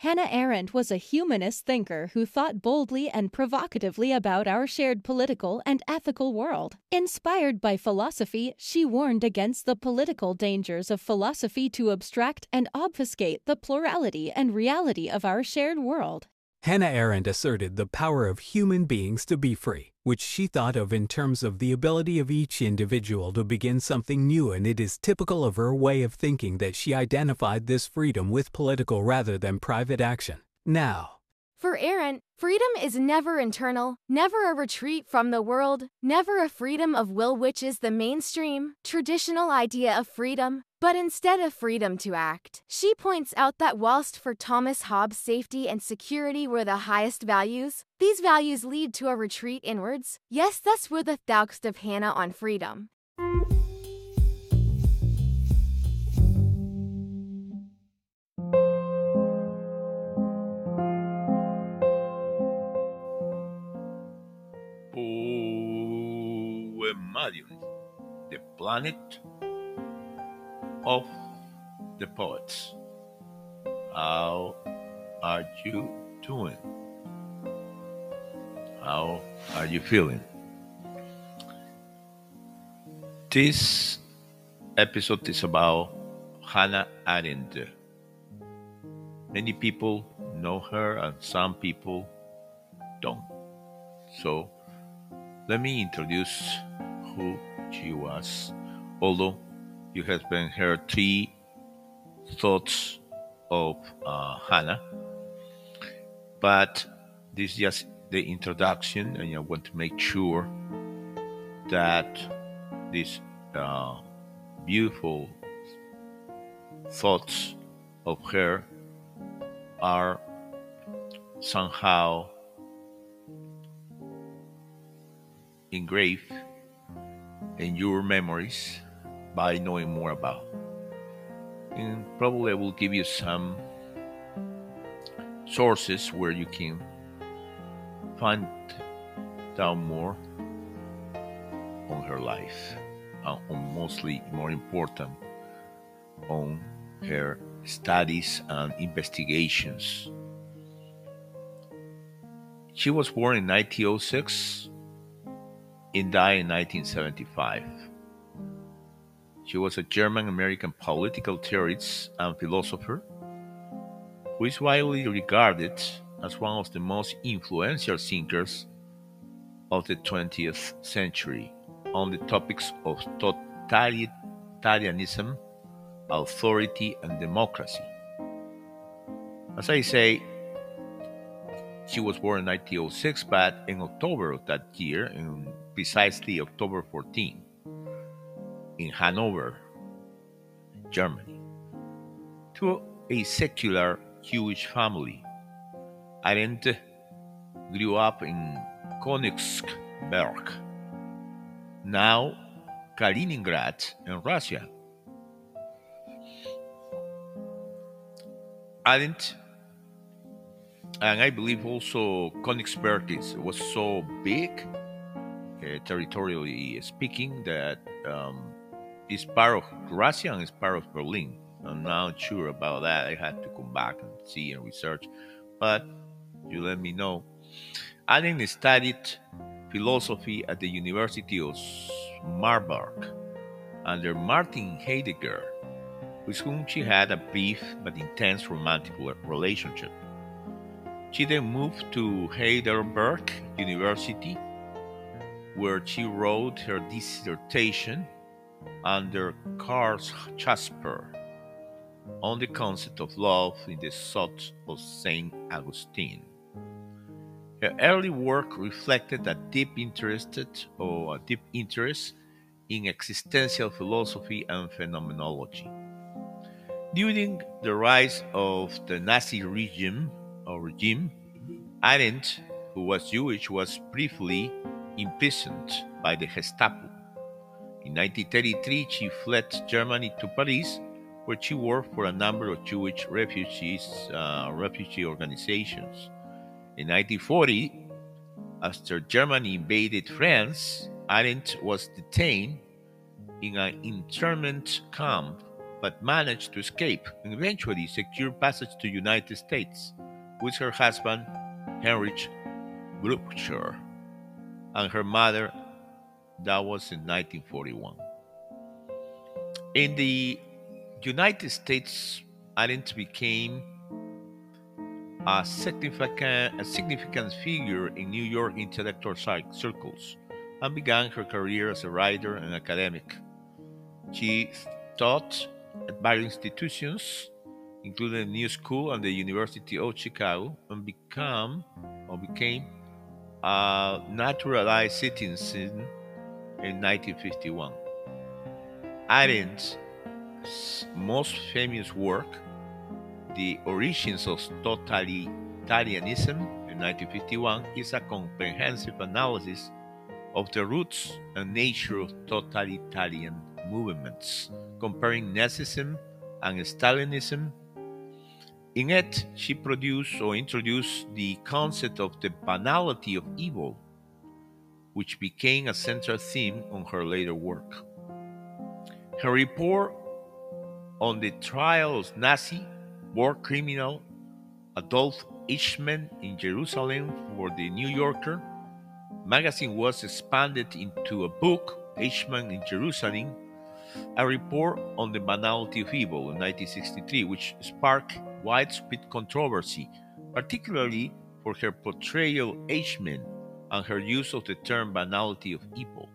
Hannah Arendt was a humanist thinker who thought boldly and provocatively about our shared political and ethical world. Inspired by philosophy, she warned against the political dangers of philosophy to abstract and obfuscate the plurality and reality of our shared world. Hannah Arendt asserted the power of human beings to be free, which she thought of in terms of the ability of each individual to begin something new, and it is typical of her way of thinking that she identified this freedom with political rather than private action. Now, for Arendt, freedom is never internal, never a retreat from the world, never a freedom of will, which is the mainstream, traditional idea of freedom, but instead of freedom to act. She points out that whilst for Thomas Hobbes safety and security were the highest values, these values lead to a retreat inwards. Yes, thus were the thoughts of Hannah on freedom. Poemarium, the planet of the poets. How are you doing? How are you feeling? This episode is about Hannah Arendt. Many people know her and some people don't. So let me introduce who she was, although you have been heard 3 thoughts of Hannah, but this is just the introduction, and I want to make sure that these beautiful thoughts of her are somehow engraved in your memories by knowing more about. And probably I will give you some sources where you can find out more on her life, on mostly more important on her studies and investigations. She was born in 1906 and died in 1975. She was a German-American political theorist and philosopher who is widely regarded as one of the most influential thinkers of the 20th century on the topics of totalitarianism, authority, and democracy. As I say, she was born in 1906, but in October of that year, in precisely October 14, in Hanover, Germany, to a secular Jewish family. Arendt grew up in Königsberg, now Kaliningrad in Russia. Arendt, and I believe also Königsberg was so big, territorially speaking, that it's part of Russia and it's part of Berlin. I'm not sure about that. I had to come back and see and research, but you let me know. Arendt studied philosophy at the University of Marburg under Martin Heidegger, with whom she had a brief but intense romantic relationship. She then moved to Heidelberg University, where she wrote her dissertation under Karl Jasper on the concept of love in the thoughts of Saint Augustine. Her early work reflected a deep interest in existential philosophy and phenomenology. During the rise of the Nazi regime, Arendt, who was Jewish, was briefly imprisoned by the Gestapo. In 1933, she fled Germany to Paris, where she worked for a number of Jewish refugee organizations. In 1940, after Germany invaded France, Arendt was detained in an internment camp but managed to escape and eventually secured passage to the United States with her husband, Heinrich Blücher, and her mother. That was in 1941. In the United States, Arendt became a significant figure in New York intellectual circles and began her career as a writer and academic. She taught at various institutions, including the New School and the University of Chicago, and became a naturalized citizen in 1951. Arendt's most famous work, The Origins of Totalitarianism, in 1951, is a comprehensive analysis of the roots and nature of totalitarian movements, comparing Nazism and Stalinism. In it, she introduced the concept of the banality of evil, which became a central theme on her later work. Her report on the trial of Nazi war criminal Adolf Eichmann in Jerusalem for the New Yorker magazine was expanded into a book, Eichmann in Jerusalem, a report on the banality of evil, in 1963, which sparked widespread controversy, particularly for her portrayal of Eichmann and her use of the term banality of evil.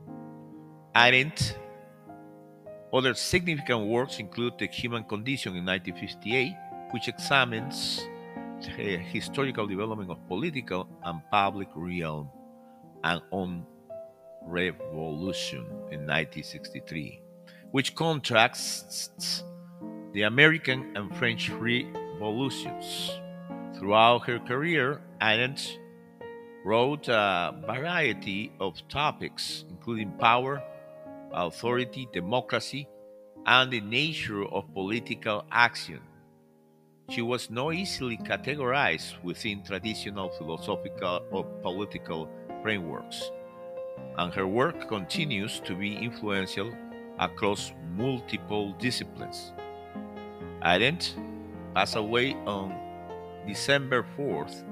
Arendt. Other significant works include The Human Condition in 1958, which examines the historical development of political and public realm, and On Revolution in 1963, which contrasts the American and French revolutions. Throughout her career, Arendt wrote a variety of topics, including power, authority, democracy, and the nature of political action. She was not easily categorized within traditional philosophical or political frameworks, and her work continues to be influential across multiple disciplines. Arendt passed away on December 4th,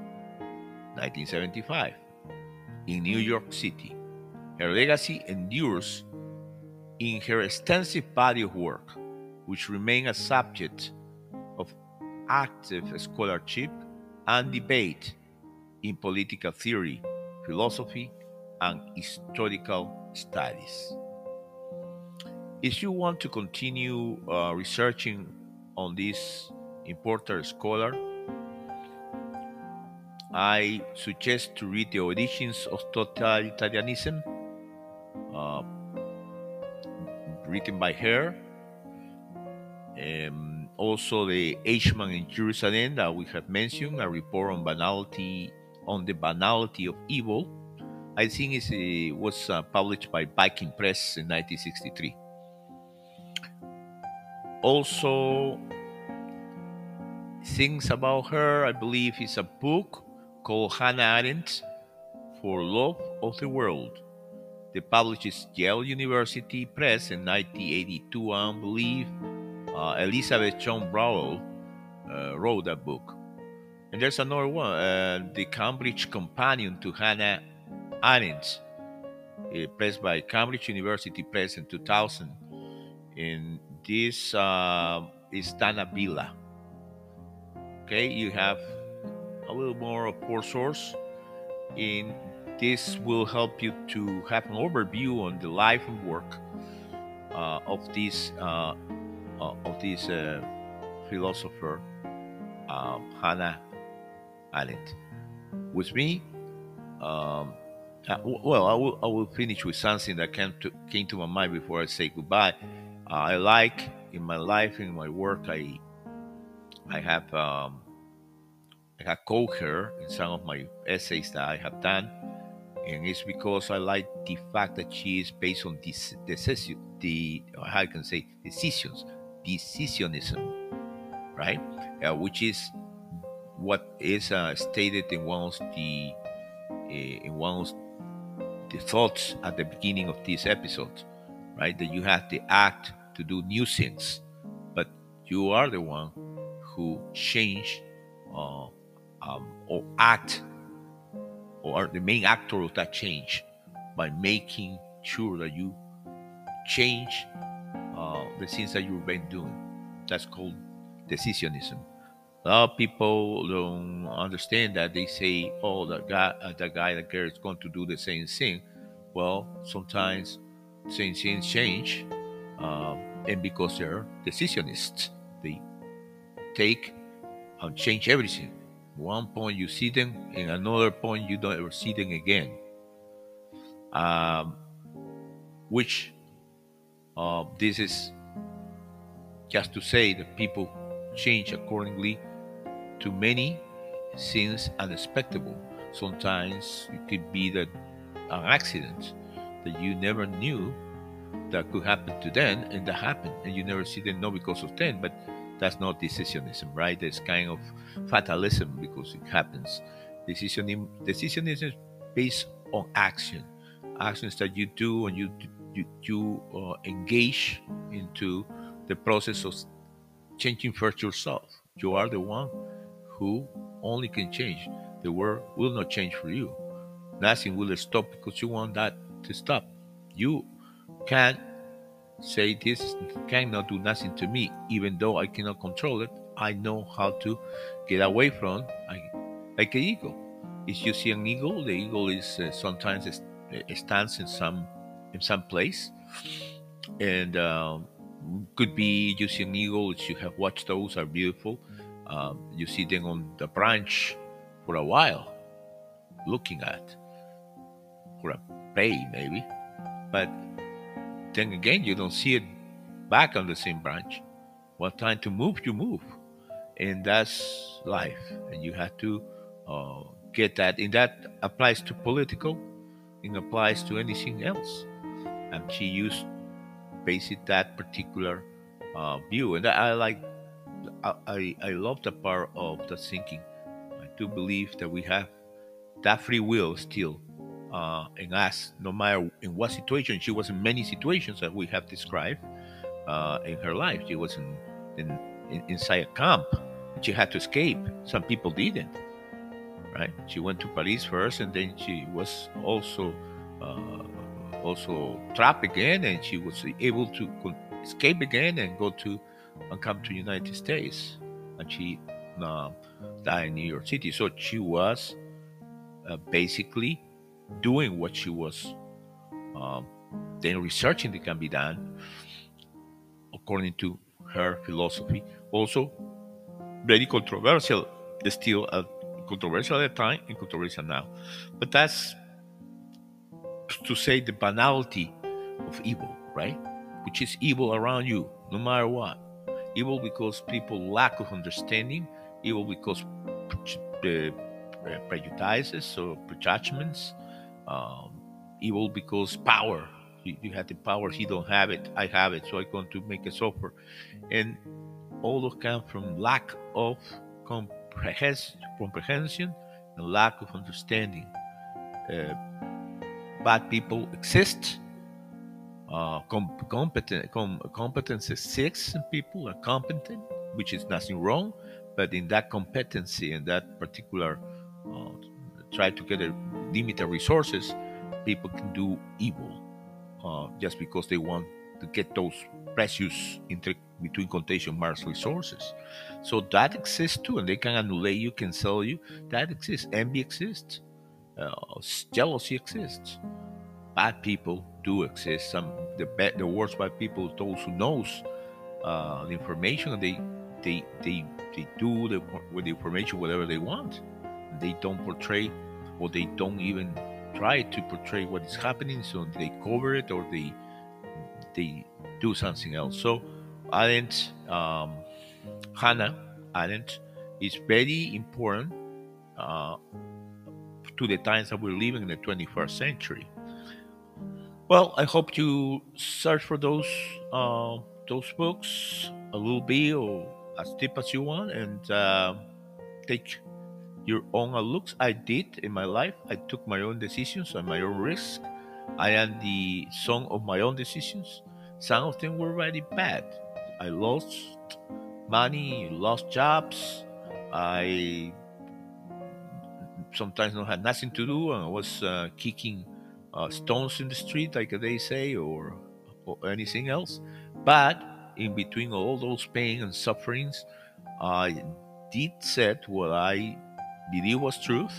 1975, in New York City. Her legacy endures in her extensive body of work, which remain a subject of active scholarship and debate in political theory, philosophy, and historical studies. If you want to continue researching on this important scholar, I suggest to read The Origins of Totalitarianism, written by her. Also, the Eichmann in Jerusalem that we have mentioned, a report on the banality of evil. I think it was published by Viking Press in 1963. Also, things about her, I believe, is a book called Hannah Arendt, For Love of the World. They published Yale University Press in 1982, and I believe Elizabeth John Browl wrote that book. And there's another one, The Cambridge Companion to Hannah Arendt, pressed by Cambridge University Press in 2000. And this is Dana Villa. Okay, you have a little more of poor source. In this will help you to have an overview on the life and work of this philosopher, Hannah Arendt. With me, I will finish with something that came to my mind before I say goodbye. I like in my life, in my work, I have quote her in some of my essays that I have done, and it's because I like the fact that she is based on decisionism, right? Which is what is stated in one of the thoughts at the beginning of this episode, right? That you have the act to do new things, You are the one who change or act, or are the main actor of that change, by making sure that you change the things that you've been doing. That's called decisionism. A lot of people don't understand that. They say, "Oh, that girl is going to do the same thing." Well, sometimes same things change, um, and because they're decisionists, they take and change everything. One point you see them, and another point you don't ever see them again. Um, which this is just to say that people change accordingly to many things unexpected. Sometimes it could be that an accident that you never knew that could happen to them, and that happened, and you never see them, not because of them, but that's not decisionism, right? That's kind of fatalism because it happens. Decisionism is based on actions that you do, and you engage into the process of changing first yourself. You are the one who only can change. The world will not change for you. Nothing will stop because you want that to stop. You can't say this cannot do nothing to me, even though I cannot control it. I know how to get away from. Like an eagle. If you see an eagle, the eagle is sometimes stands in some place, and could be you see an eagle. If you have watched those, are beautiful. You see them on the branch for a while, looking at for a prey maybe, but then again you don't see it back on the same branch. What time to move, you move, and that's life. And you have to get that, and that applies to political, it applies to anything else. And she used basically that particular view, and I like, I love the part of the thinking. I do believe that we have that free will still in us, no matter in what situation. She was in many situations that we have described in her life. She was inside a camp. She had to escape. Some people didn't. Right? She went to Paris first, and then she was also trapped again, and she was able to escape again and go to and come to United States, and she uh, died in New York City. So she was basically doing what she was um, then researching that can be done according to her philosophy. Also very controversial, still controversial at the time and controversial now. But that's to say the banality of evil, right? Which is evil around you, no matter what. Evil because people lack of understanding. Evil because prejudices or prejudgments. Um, Evil because power. You have the power. He don't have it. I have it. So I'm going to make it suffer. And all of come from lack of comprehension and lack of understanding. Uh, Bad people exist. Competence exists, and people are competent, which is nothing wrong. But in that competency and that particular try to get limited resources, people can do evil just because they want to get those precious, between quotation marks, resources. So that exists too, and they can annulate you, can sell you. That exists. Envy exists. Jealousy exists. Bad people do exist. The worst bad people, those who knows the information, and they do with the information whatever they want. They don't portray, or they don't even try to portray what is happening. So they cover it, or they do something else. So Arendt, Hannah Arendt, is very important to the times that we're living in the 21st century. Well, I hope you search for those books a little bit or as deep as you want, and take your own looks. I did in my life. I took my own decisions and my own risk. I am the son of my own decisions. Some of them were very bad. I lost money, lost jobs. I sometimes not had nothing to do, and I was kicking stones in the street, like they say, or anything else. But in between all those pain and sufferings, I did said what I believe was truth.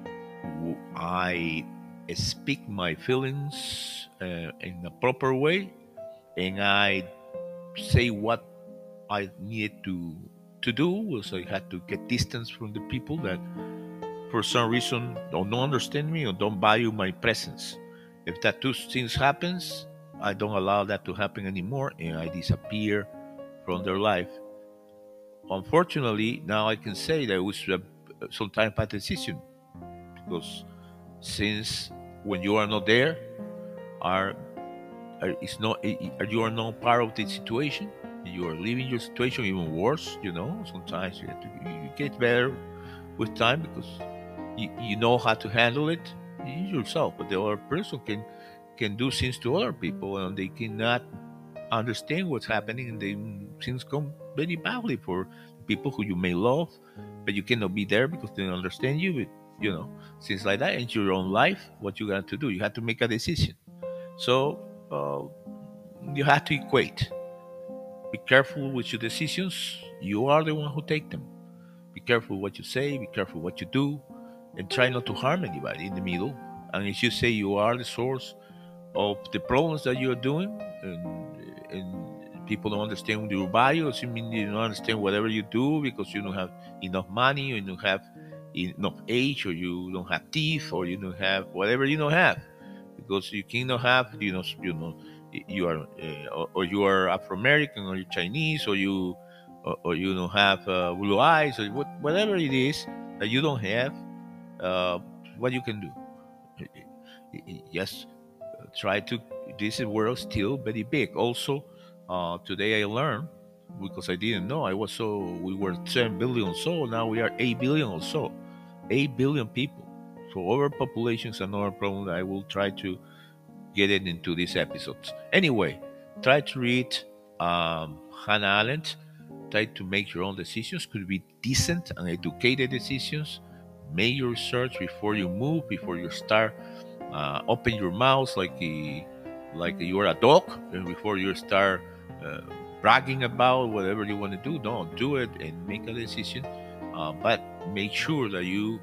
I speak my feelings in a proper way, and I say what I needed to do. Was I had to get distance from the people that, for some reason, don't understand me or don't value my presence. If that two things happens, I don't allow that to happen anymore, and I disappear from their life. Unfortunately, now I can say that it was sometimes bad decision, because since when you are not there, are it's not you are not part of the situation. You are leaving your situation even worse. Sometimes you have to you get better with time, because you know how to handle it yourself, but the other person can do things to other people, and they cannot understand what's happening, and then things come very badly for people who you may love, but you cannot be there because they don't understand you. But things like that in your own life, what you got to do, you have to make a decision. So you have to equate. Be careful with your decisions. You are the one who take them. Be careful what you say. Be careful what you do, and try not to harm anybody in the middle. And if you say you are the source of the problems that you're doing, and people don't understand your values, you mean you don't understand whatever you do because you don't have enough money, or you don't have enough age, or you don't have teeth, or you don't have whatever you don't have, because you cannot have, you are or you are Afro American, or you're Chinese, or you don't have blue eyes, or whatever it is that you don't have. uh, what you can do, yes, try to. This world is still very big. Also, today I learned, because I didn't know. We were 10 billion or so. Now we are 8 billion or so. 8 billion people. So overpopulation is another problem that I will try to get it into these episodes. Anyway, try to read Hannah Arendt. Try to make your own decisions. Could be decent and educated decisions. Make your research before you move, before you start. Open your mouth like you are a dog, and before you start uh, bragging about whatever you want to do. Don't do it, and make a decision. But make sure that you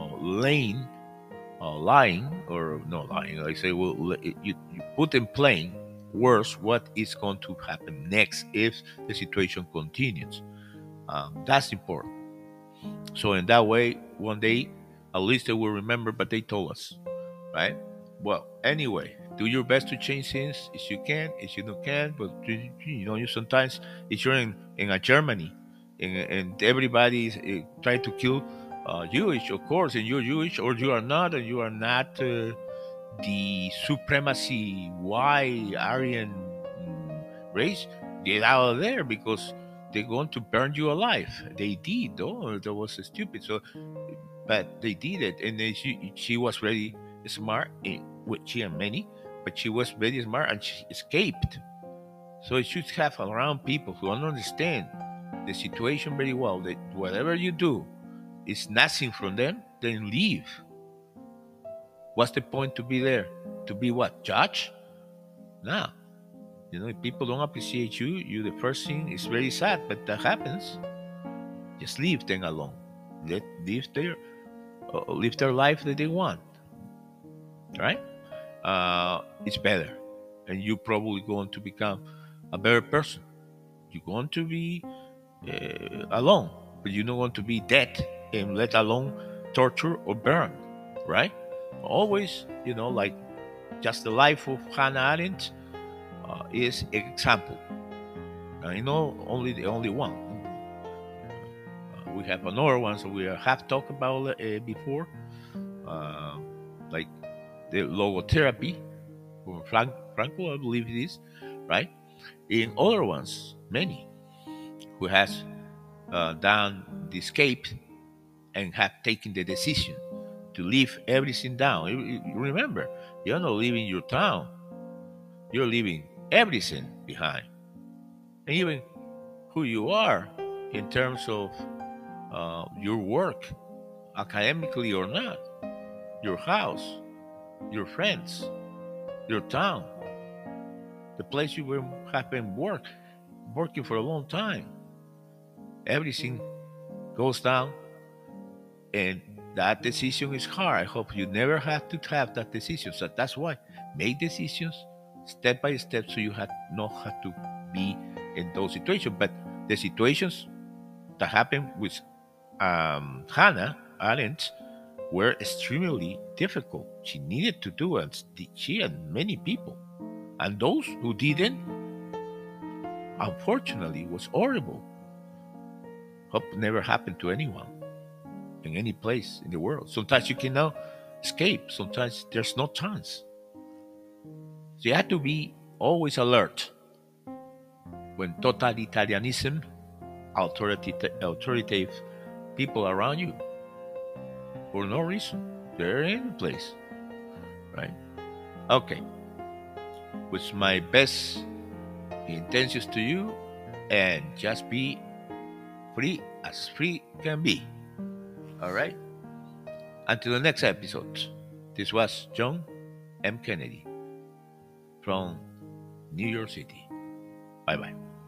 lying, or not lying, like say, well, you put in plain words what is going to happen next if the situation continues. That's important. So in that way, one day, at least they will remember, but they told us, right? Well, anyway, do your best to change things if you can, if you don't can. But you sometimes, if you're in a Germany, and everybody is trying to kill Jewish, of course, and you're Jewish, or you are not, and you are not the supremacy white Aryan race, get out of there, because they're going to burn you alive. They did, though. That was stupid. So, but they did it, and then she was very smart, with she and many, but she was very smart, and she escaped. So you should have around people who understand the situation very well. That whatever you do is nothing from them, then leave. What's the point to be there? To be what? Judge? No. If people don't appreciate you the first thing is very sad, but that happens. Just leave them alone. Live their life that they want. Right? It's better, and you're probably going to become a better person. You're going to be alone, but you're not going to be dead, and let alone torture or burn. Right? Always, like just the life of Hannah Arendt is an example. I know only the only one. We have another one, so we have talked about before, uh, like the logotherapy from Franco, I believe it is, right? In other ones, many who has done the escape and have taken the decision to leave everything down. Remember, you're not leaving your town; you're leaving everything behind, and even who you are. in terms of your work, academically or not, your house, your friends, your town, the place you have been working for a long time. Everything goes down, and that decision is hard. I hope you never have to have that decision. So that's why make decisions step by step, so you not have to be in those situations. But the situations that happened with Hannah Arendt were extremely difficult. She needed to do it. She and many people, and those who didn't, unfortunately, was horrible. Hope never happened to anyone in any place in the world. Sometimes you cannot escape. Sometimes there's no chance. So you have to be always alert when totalitarianism, authoritative people around you, for no reason, they're in the place, right? Okay. With my best intentions to you, and just be free as free can be. All right? Until the next episode, this was John M. Kennedy from New York City. Bye bye.